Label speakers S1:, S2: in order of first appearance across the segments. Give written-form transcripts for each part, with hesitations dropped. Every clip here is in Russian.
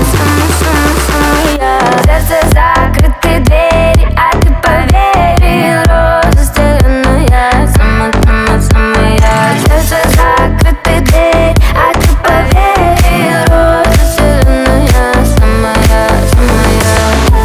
S1: самая я. Сердце закрыты двери, а ты поверил. Роза стеклянная, самая я. Сердце закрыты двери, а ты поверил. Роза стеклянная, самая я.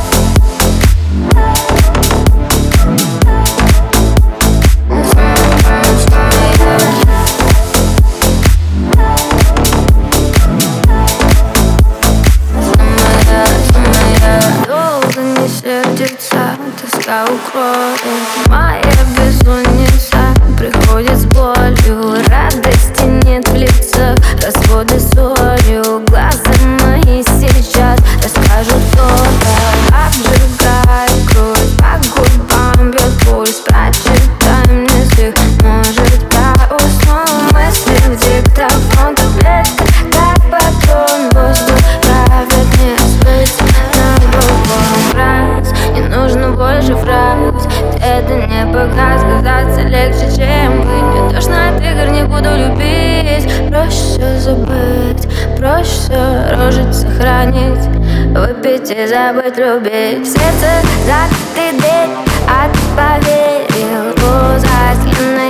S1: Долго не сердится, тоска укроет. Моя бессонница приходит с болью. Радости нет в лицах, разводы солью. Глаза мои сейчас расскажут то-то. Обжигает кровь, по губам бьет пульс. Прочитай мне стих, может я усну. Мысли в диктофон, таблетка, как патрон. Воздух правит мне спать на другом раз. Не нужно больше фраз, это не показ. Казаться легче, чем быть. Мне тошно от игр, не буду любить. Проще забыть, проще рожить, сохранить, выпить и забыть любить. В сердце закрыты дверь, а ты поверил. Роза стеклянная.